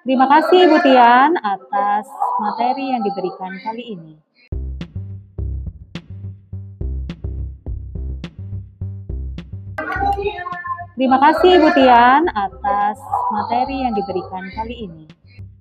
Terima kasih Ibu Tian atas materi yang diberikan kali ini. Terima kasih Ibu Tian atas materi yang diberikan kali ini.